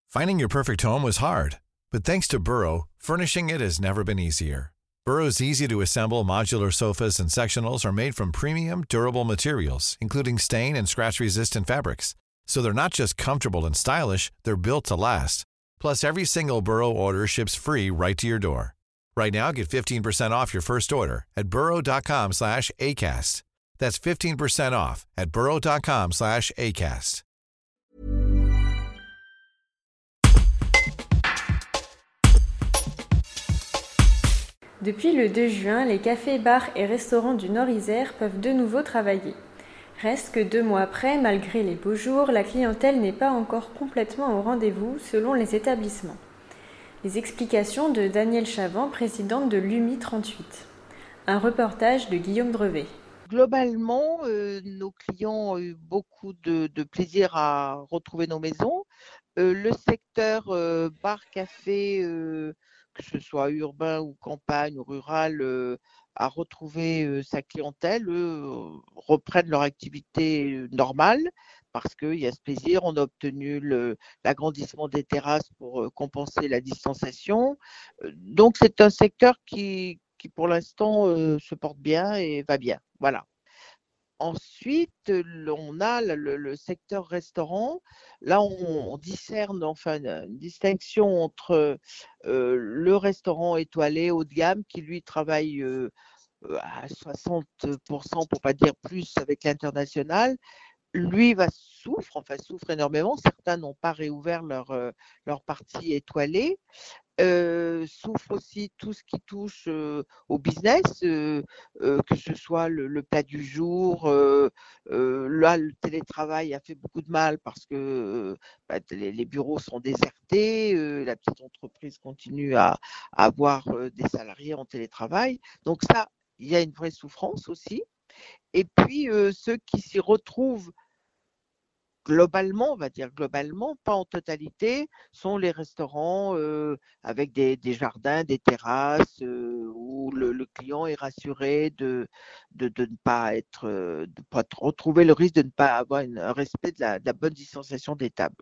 Finding your perfect home was hard, but thanks to Burrow, furnishing it has never been easier. Burrow's easy-to-assemble modular sofas and sectionals are made from premium, durable materials, including stain and scratch-resistant fabrics. So they're not just comfortable and stylish, they're built to last. Plus, every single Burrow order ships free right to your door. Right now, get 15% off your first order at burrow.com/ACAST. That's 15% off at burrow.com/ACAST. Depuis le 2 juin, les cafés, bars et restaurants du Nord-Isère peuvent de nouveau travailler. Reste que 2 mois après, malgré les beaux jours, la clientèle n'est pas encore complètement au rendez-vous selon les établissements. Les explications de Danielle Chavant, présidente de l'UMI 38. Un reportage de Guillaume Drevet. Globalement, nos clients ont eu beaucoup de plaisir à retrouver nos maisons. Le secteur bar-café, que ce soit urbain ou campagne ou rural, a retrouvé sa clientèle, reprennent leur activité normale parce qu'il y a ce plaisir. On a obtenu l'agrandissement des terrasses pour compenser la distanciation. Donc c'est un secteur qui pour l'instant se porte bien et va bien. Voilà. Ensuite, on a le secteur restaurant. Là, on discerne une distinction entre le restaurant étoilé haut de gamme qui, lui, travaille à 60%, pour pas dire plus, avec l'international. Lui souffre énormément. Certains n'ont pas réouvert leur partie étoilée. Souffre aussi tout ce qui touche au business, que ce soit le plat du jour. Là, le télétravail a fait beaucoup de mal parce que les bureaux sont désertés, la petite entreprise continue à avoir des salariés en télétravail. Donc ça, il y a une vraie souffrance aussi. Et puis, ceux qui s'y retrouvent globalement, on va dire globalement, pas en totalité, sont les restaurants avec des jardins, des terrasses, où le client est rassuré de ne pas retrouver le risque de ne pas avoir un respect de la bonne distanciation des tables.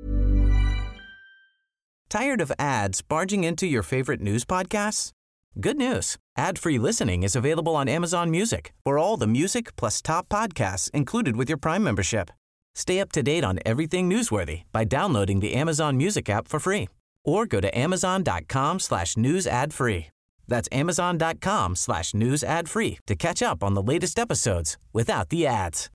Tired of ads barging into your favorite news podcasts? Good news. Ad-free listening is available on Amazon Music for all the music plus top podcasts included with your Prime membership. Stay up to date on everything newsworthy by downloading the Amazon Music app for free or go to amazon.com/news ad free. That's amazon.com/news ad free to catch up on the latest episodes without the ads.